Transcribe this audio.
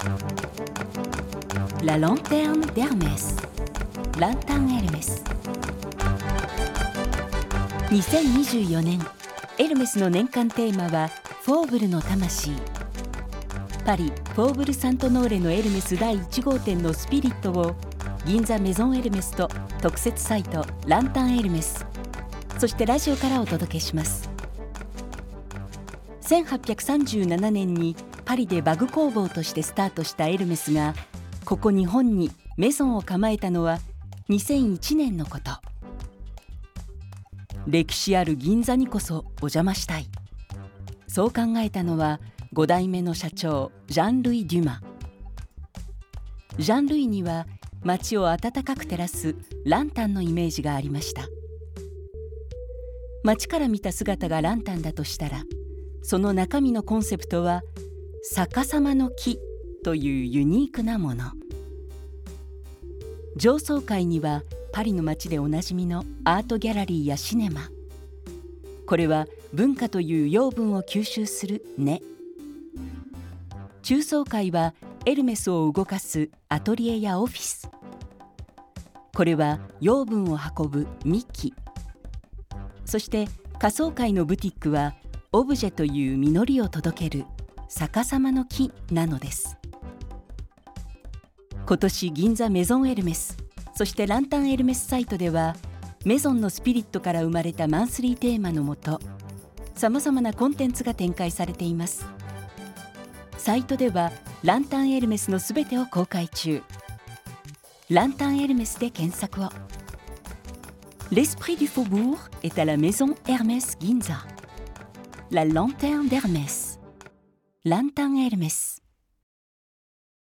La lanterne d'Hermès ランタンエルメス。2024年エルメスの年間テーマはフォーブルの魂。パリフォーブルサントノーレのエルメス第1号店のスピリットを銀座メゾンエルメスと特設サイトランタンエルメス、そしてラジオからお届けします。1837年にパリでバグ工房としてスタートしたエルメスがここ日本にメゾンを構えたのは2001年のこと。歴史ある銀座にこそお邪魔したい、そう考えたのは5代目の社長ジャン・ルイ・デュマ。ジャン・ルイには街を温かく照らすランタンのイメージがありました。街から見た姿がランタンだとしたら、その中身のコンセプトは逆さまの木というユニークなもの。上層階にはパリの街でおなじみのアートギャラリーやシネマ、これは文化という養分を吸収する根。中層階はエルメスを動かすアトリエやオフィス、これは養分を運ぶ幹。そして下層階のブティックはオブジェという実りを届ける逆さまの木なのです。今年銀座メゾンエルメス、そしてランタンエルメスサイトではメゾンのスピリットから生まれたマンスリーテーマのもと、さまざまなコンテンツが展開されています。サイトではランタンエルメスのすべてを公開中。ランタンエルメスで検索を。L'esprit du faubourg est à la maison Hermès Ginza. La lanterne d'Hermès. ランタンエルメス。